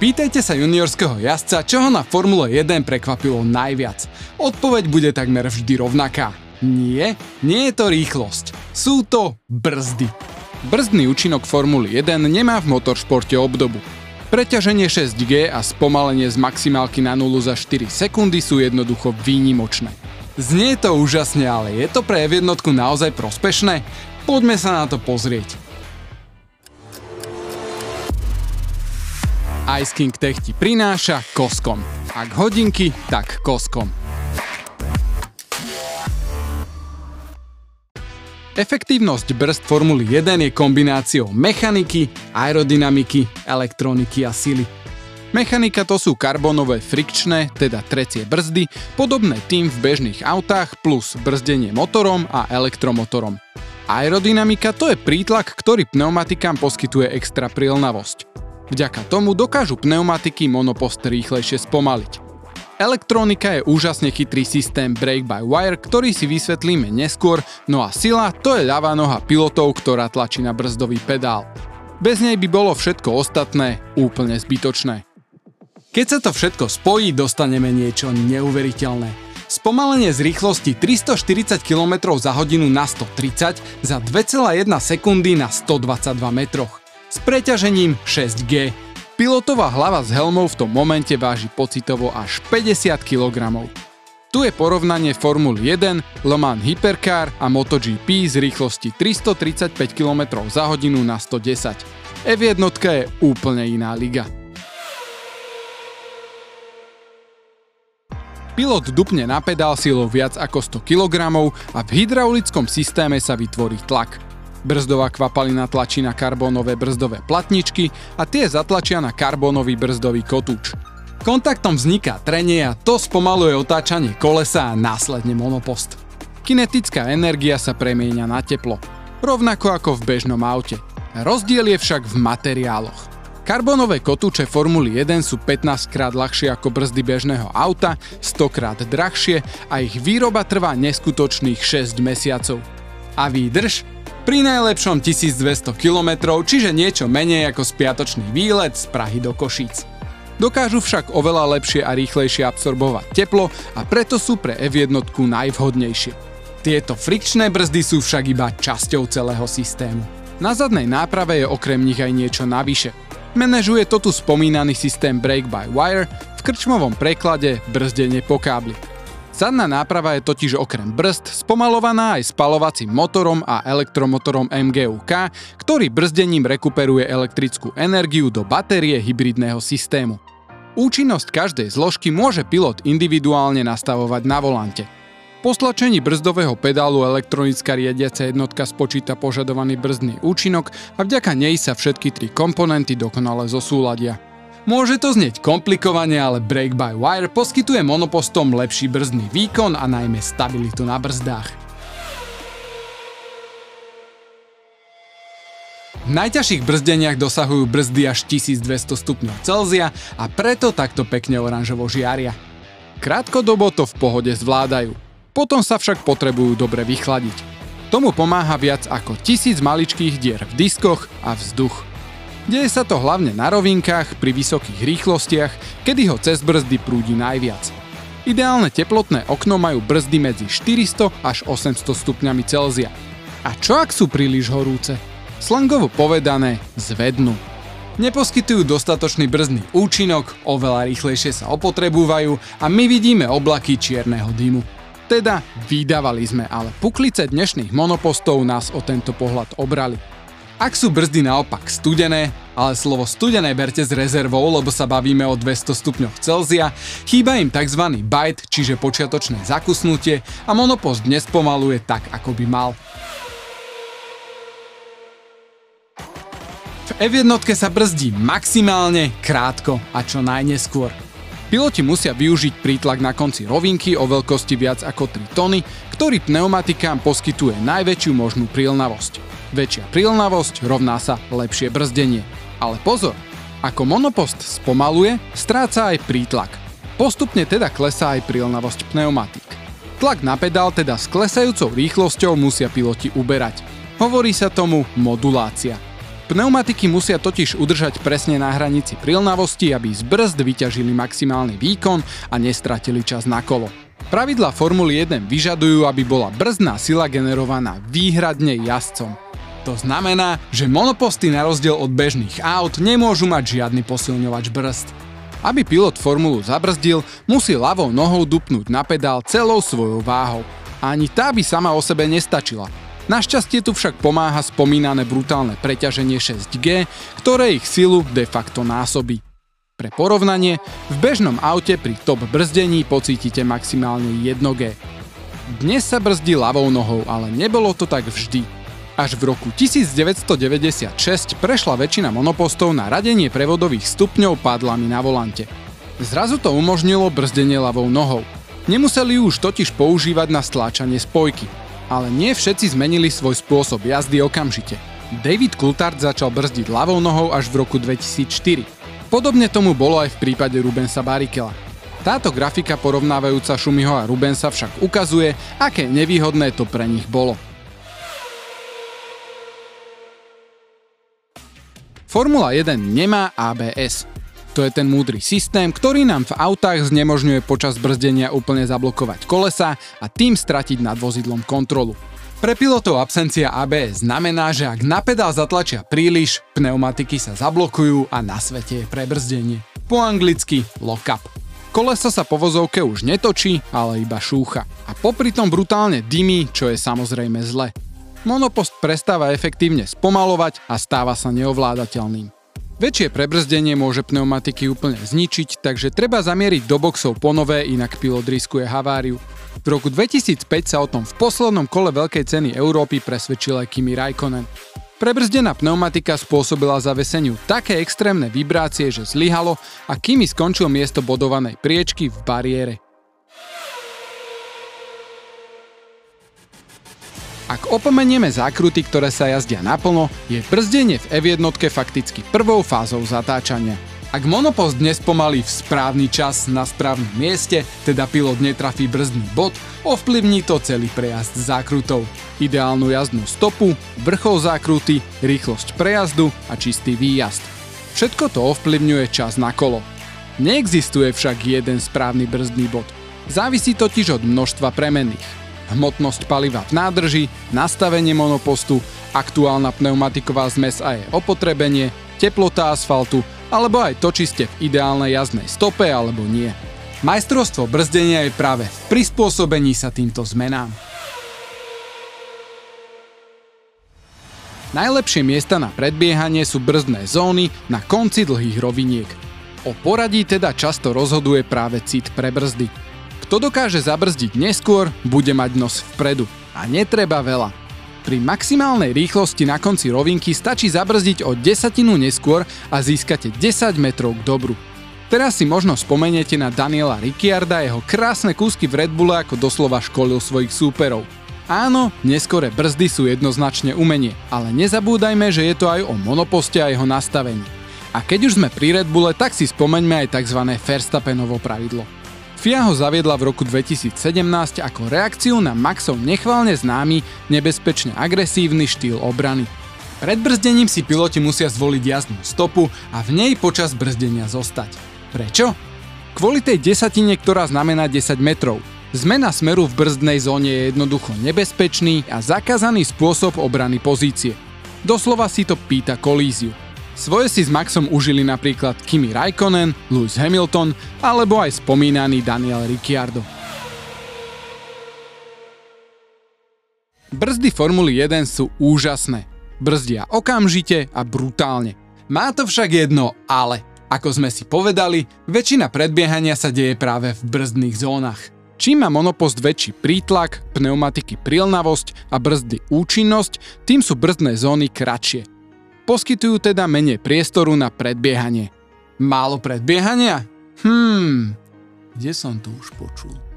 Pýtajte sa juniorského jazdca, čo ho na Formule 1 prekvapilo najviac. Odpoveď bude takmer vždy rovnaká. Nie je to rýchlosť. Sú to brzdy. Brzdný účinok Formuly 1 nemá v motoršporte obdobu. Preťaženie 6G a spomalenie z maximálky na 0 za 4 sekundy sú jednoducho výnimočné. Znie to úžasne, ale je to pre F1 naozaj prospešné? Poďme sa na to pozrieť. Ice King Tech ti prináša Koskom. Ak hodinky, tak Koskom. Efektívnosť brzd Formuly 1 je kombináciou mechaniky, aerodynamiky, elektroniky a sily. Mechanika to sú karbonové frikčné, teda trecie brzdy, podobné tým v bežných autách plus brzdenie motorom a elektromotorom. Aerodynamika to je prítlak, ktorý pneumatikám poskytuje extra prilnavosť. Vďaka tomu dokážu pneumatiky monopost rýchlejšie spomaliť. Elektronika je úžasne chytrý systém brake-by-wire, ktorý si vysvetlíme neskôr, no a sila to je ľavá noha pilotov, ktorá tlačí na brzdový pedál. Bez nej by bolo všetko ostatné úplne zbytočné. Keď sa to všetko spojí, dostaneme niečo neuveriteľné. Spomalenie z rýchlosti 340 km za hodinu na 130 za 2,1 sekundy na 122 metroch. S preťažením 6G. Pilotová hlava s helmou v tom momente váži pocitovo až 50 kg. Tu je porovnanie Formuly 1, Le Mans Hypercar a MotoGP z rýchlosti 335 km za hodinu na 110. F1 je úplne iná liga. Pilot dupne na pedál silou viac ako 100 kg a v hydraulickom systéme sa vytvorí tlak. Brzdová kvapalina tlačí na karbónové brzdové platničky a tie zatlačia na karbónový brzdový kotúč. Kontaktom vzniká trenie a to spomaluje otáčanie kolesa a následne monopost. Kinetická energia sa premieňa na teplo, rovnako ako v bežnom aute. Rozdiel je však v materiáloch. Karbónové kotúče Formuly 1 sú 15 krát ľahšie ako brzdy bežného auta, 100 krát drahšie a ich výroba trvá neskutočných 6 mesiacov. A výdrž? Pri najlepšom 1200 km, čiže niečo menej ako spiatočný výlet z Prahy do Košíc. Dokážu však oveľa lepšie a rýchlejšie absorbovať teplo a preto sú pre F1 najvhodnejšie. Tieto frikčné brzdy sú však iba časťou celého systému. Na zadnej náprave je okrem nich aj niečo navyše. Manažuje to tu spomínaný systém brake-by-wire, v krčmovom preklade brzdenie po kábli. Zadná náprava je totiž okrem brzd spomalovaná aj spaľovacím motorom a elektromotorom MGU-K, ktorý brzdením rekuperuje elektrickú energiu do batérie hybridného systému. Účinnosť každej zložky môže pilot individuálne nastavovať na volante. Po stlačení brzdového pedálu elektronická riadiaca jednotka spočíta požadovaný brzdný účinok a vďaka nej sa všetky tri komponenty dokonale zosúladia. Môže to znieť komplikovane, ale brake-by-wire poskytuje monopostom lepší brzdný výkon a najmä stabilitu na brzdách. V najťažších brzdeniach dosahujú brzdy až 1200 stupňov Celzia a preto takto pekne oranžovo žiaria. Krátkodobo to v pohode zvládajú, potom sa však potrebujú dobre vychladiť. Tomu pomáha viac ako 1000 maličkých dier v diskoch a vzduch. Deje sa to hlavne na rovinkách pri vysokých rýchlostiach, kedy ho cez brzdy prúdi najviac. Ideálne teplotné okno majú brzdy medzi 400 až 800 stupňami Celzia. A čo ak sú príliš horúce? Slangovo povedané, zvednú. Neposkytujú dostatočný brzdný účinok, oveľa rýchlejšie sa opotrebúvajú a my vidíme oblaky čierneho dymu. Teda vydávali sme, ale puklice dnešných monopostov nás o tento pohľad obrali. Ak sú brzdy naopak studené, ale slovo studené berte s rezervou, lebo sa bavíme o 200 stupňoch Celzia, chýba im tzv. Bite, čiže počiatočné zakusnutie a monopost nespomaluje tak, ako by mal. V F1 sa brzdí maximálne, krátko a čo najneskôr. Piloti musia využiť prítlak na konci rovinky o veľkosti viac ako 3 tony, ktorý pneumatikám poskytuje najväčšiu možnú prilnavosť. Väčšia prilnavosť rovná sa lepšie brzdenie. Ale pozor, ako monopost spomaluje, stráca aj prítlak. Postupne teda klesá aj prilnavosť pneumatík. Tlak na pedál teda s klesajúcou rýchlosťou musia piloti uberať. Hovorí sa tomu modulácia. Pneumatiky musia totiž udržať presne na hranici prilnavosti, aby z brzd vyťažili maximálny výkon a nestratili čas na kolo. Pravidlá Formuly 1 vyžadujú, aby bola brzdná sila generovaná výhradne jazdcom. To znamená, že monoposty na rozdiel od bežných aut nemôžu mať žiadny posilňovač brzd. Aby pilot formulu zabrzdil, musí ľavou nohou dupnúť na pedál celou svojou váhou. Ani tá by sama o sebe nestačila. Našťastie tu však pomáha spomínané brutálne preťaženie 6G, ktoré ich silu de facto násobí. Pre porovnanie, v bežnom aute pri top brzdení pocítite maximálne 1G. Dnes sa brzdí ľavou nohou, ale nebolo to tak vždy. Až v roku 1996 prešla väčšina monopostov na radenie prevodových stupňov pádlami na volante. Zrazu to umožnilo brzdenie ľavou nohou. Nemuseli ju už totiž používať na stláčanie spojky. Ale nie všetci zmenili svoj spôsob jazdy okamžite. David Coulthard začal brzdiť ľavou nohou až v roku 2004. Podobne tomu bolo aj v prípade Rubensa Barrichella. Táto grafika porovnávajúca Schumiho a Rubensa však ukazuje, aké nevýhodné to pre nich bolo. Formula 1 nemá ABS. To je ten múdry systém, ktorý nám v autách znemožňuje počas brzdenia úplne zablokovať kolesa a tým stratiť nad vozidlom kontrolu. Pre pilotov absencia ABS znamená, že ak na pedál zatlačia príliš, pneumatiky sa zablokujú a na svete je prebrzdenie. Po anglicky lock-up. Koleso sa po vozovke už netočí, ale iba šúcha. A popri tom brutálne dymí, čo je samozrejme zle. Monopost prestáva efektívne spomalovať a stáva sa neovládateľným. Väčšie prebrzdenie môže pneumatiky úplne zničiť, takže treba zamieriť do boxov ponové, inak pilot riskuje haváriu. V roku 2005 sa o tom v poslednom kole Veľkej ceny Európy presvedčil aj Kimi Räikkönen. Prebrzdená pneumatika spôsobila zaveseniu také extrémne vibrácie, že zlyhalo a Kimi skončil miesto bodovanej priečky v bariére. Ak opomenieme zákruty, ktoré sa jazdia naplno, je brzdenie v F1 fakticky prvou fázou zatáčania. Ak monopost dnes pomalí v správny čas na správnom mieste, teda pilot netrafí brzdný bod, ovplyvní to celý prejazd zákrutov. Ideálnu jazdnú stopu, vrchol zákruty, rýchlosť prejazdu a čistý výjazd. Všetko to ovplyvňuje čas na kolo. Neexistuje však jeden správny brzdný bod. Závisí totiž od množstva premenných. Hmotnosť paliva v nádrži, nastavenie monopostu, aktuálna pneumatiková zmes a jej opotrebenie, teplota asfaltu, alebo aj to, či ste v ideálnej jazdnej stope alebo nie. Majstrovstvo brzdenia je práve v prispôsobení sa týmto zmenám. Najlepšie miesta na predbiehanie sú brzdné zóny na konci dlhých roviniek. O poradí teda často rozhoduje práve cit pre brzdy. Kto dokáže zabrzdiť neskôr, bude mať nos vpredu. A netreba veľa. Pri maximálnej rýchlosti na konci rovinky stačí zabrzdiť o desatinu neskôr a získate 10 metrov k dobru. Teraz si možno spomeniete na Daniela Ricciarda a jeho krásne kúsky v Red Bulle, ako doslova školil svojich súperov. Áno, neskoré brzdy sú jednoznačne umenie, ale nezabúdajme, že je to aj o monoposte a jeho nastavení. A keď už sme pri Red Bulle, tak si spomeňme aj tzv. Verstappenovo pravidlo. FIA ho zaviedla v roku 2017 ako reakciu na Maxov nechválne známy, nebezpečne agresívny štýl obrany. Pred brzdením si piloti musia zvoliť jazdnú stopu a v nej počas brzdenia zostať. Prečo? Kvôli tej desatine, ktorá znamená 10 metrov. Zmena smeru v brzdnej zóne je jednoducho nebezpečný a zakázaný spôsob obrany pozície. Doslova si to pýta kolíziu. Svoje si s Maxom užili napríklad Kimi Räikkönen, Lewis Hamilton alebo aj spomínaný Daniel Ricciardo. Brzdy Formuly 1 sú úžasné. Brzdia okamžite a brutálne. Má to však jedno ale. Ako sme si povedali, väčšina predbiehania sa deje práve v brzdných zónach. Čím má monopost väčší prítlak, pneumatiky prilnavosť a brzdy účinnosť, tým sú brzdné zóny kratšie. Poskytujú teda menej priestoru na predbiehanie. Málo predbiehania? Kde som to už počul?